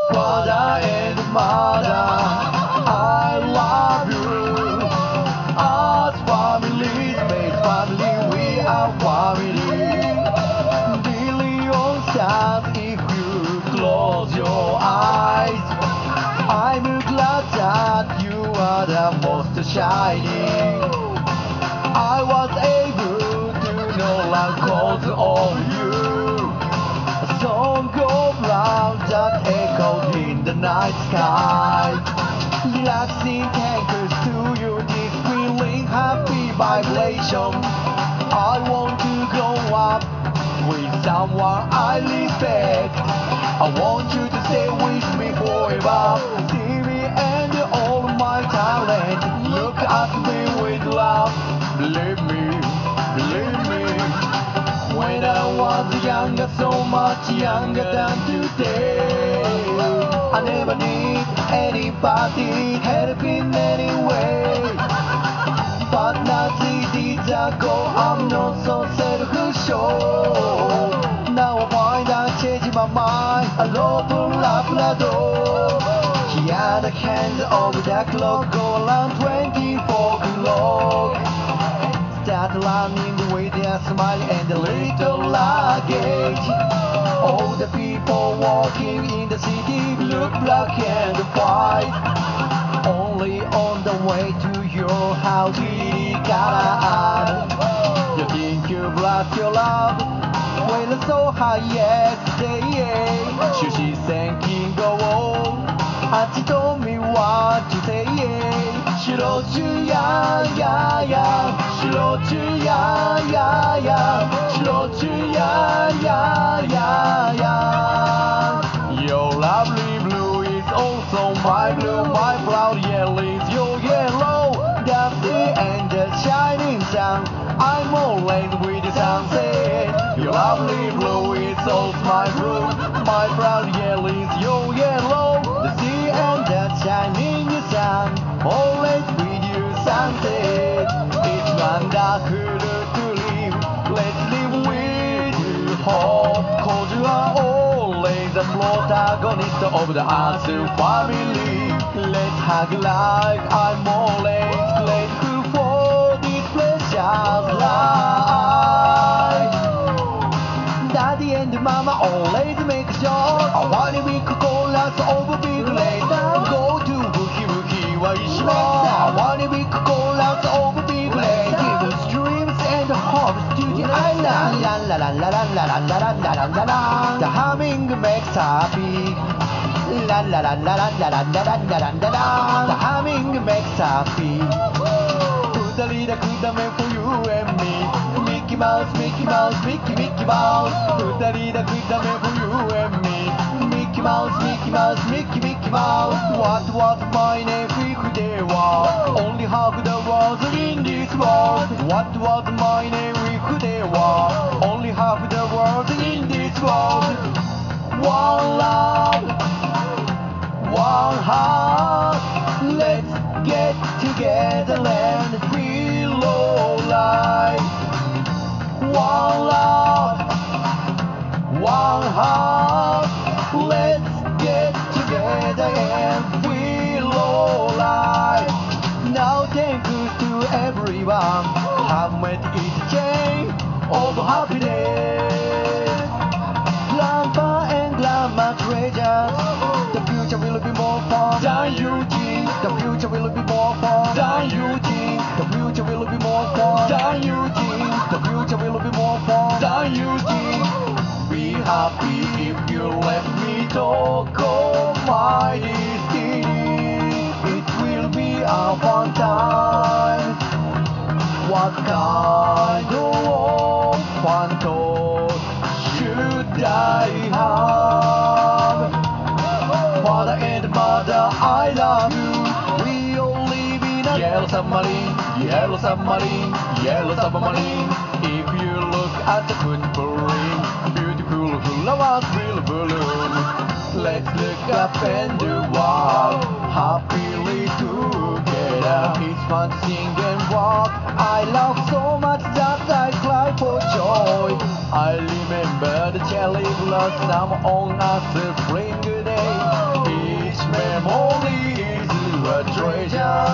father and mother, I love you. As families made family, we are family. Billion stars if you close your eyes. I'm glad that you are the most shining. I was able to know love calls on you. A song of love that echoed in the night sky. Relaxing tankers to you, this feeling happy vibration. I want to grow up with someone I respect. I want you to stay with me forever. See me and all my talent. Look at me with love. Believe me, believe me. When I was younger, so much younger than today, I never need anybody helping anyway. But now 3 days ago, I'm not so self-sure. Now I find I change my mind. I love Labrador. Here the hands of the clock go around 24 o'clock. Start running with a smile and a little luggage. All the people walking in the city look black and white. Only on the way to your house we got. You think you've lost your love? Well, so high yesterday. She thinking go on. And she told me what to say. She wrote you, yeah, yeah, yeah. She wrote you, yeah, yeah, yeah. She wrote you, yeah, yeah, yeah, yeah. Your lovely blue is also my blue. My proud yellow is your yellow. The sea and the shining sun. I'm always with the sunset. Your lovely blue is also my blue. My proud yellow is your yellow. The sea and the shining sun. Always with you sunset. It's wonderful to live. Let's live with hope. 'Cause you are always the protagonist of the Earth family. Let's hug like I'm always grateful for this precious life. Daddy and Mama always make sure I wanna be chorus over big lake. Go to Buki Buki Waishima. I wanna be chorus over big lake. Give us dreams and hopes to the island. La la la la la la la la la la la. The humming makes happy. La la la la la la la la la la la. The humming makes happy. Put a little kudame for you and me. Mickey Mouse, Mickey Mouse, Mickey, Mickey Mouse. Put a little kudame for you and me. Mickey Mouse, Mickey Mouse, Mickey, Mickey Mouse. What was my name if there was only half the world in this world? What was my name if there was only half the world in this world? One love, one heart. Let's get together and feel alive. One love, one heart. Let's get together and feel alive. Now thanks to everyone have made it a chain of happiness. Grandpa and grandma treasures. The future will be more fun than you think. The future will be more fun than you think. The future will be more fun than you think. The future will be more fun than you think. Be happy if you let me talk of my destiny. It will be a fun time. What kind of fun thought should I have? Father and mother, I love you. We all live in a yellow submarine, yellow submarine, yellow submarine. If you look at the footprint, beautiful flowers will bloom. Let's look up and do wow, happily together. It's fun to sing and walk. I love so much that I cry for joy. I remember the cherry blossom on a spring day. memory is a treasure.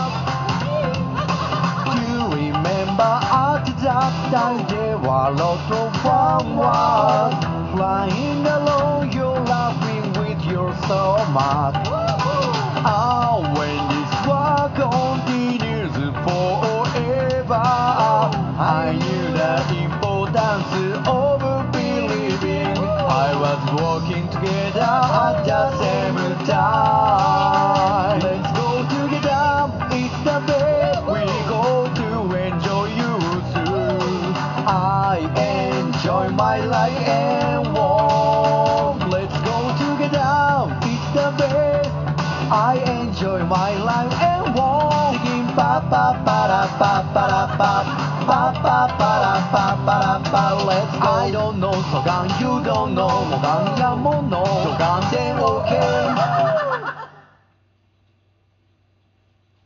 Do you remember at that time there were lots of fun was flying along, you're laughing with your stomach. Ah, when this war continues forever, I knew the importance of believing. I was walking together at the same time. Let's go together, it's the best. We go to enjoy you too. I enjoy my life and warm. Let's go together, it's the best. I enjoy my life and walk. Singing pa pa pa ra pa pa ra pa pa pa pa ra pa pa ra pa. Let's go. I don't know そがん You don't know もがんやも